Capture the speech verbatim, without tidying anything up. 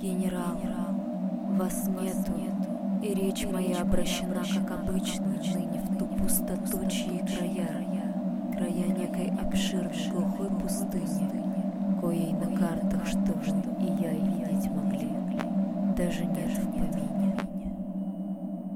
Генерал, вас нету, и речь моя обращена, как обычно, ныне в ту пустоту, чьи края, края некой обширной глухой пустыни, коей на картах, что в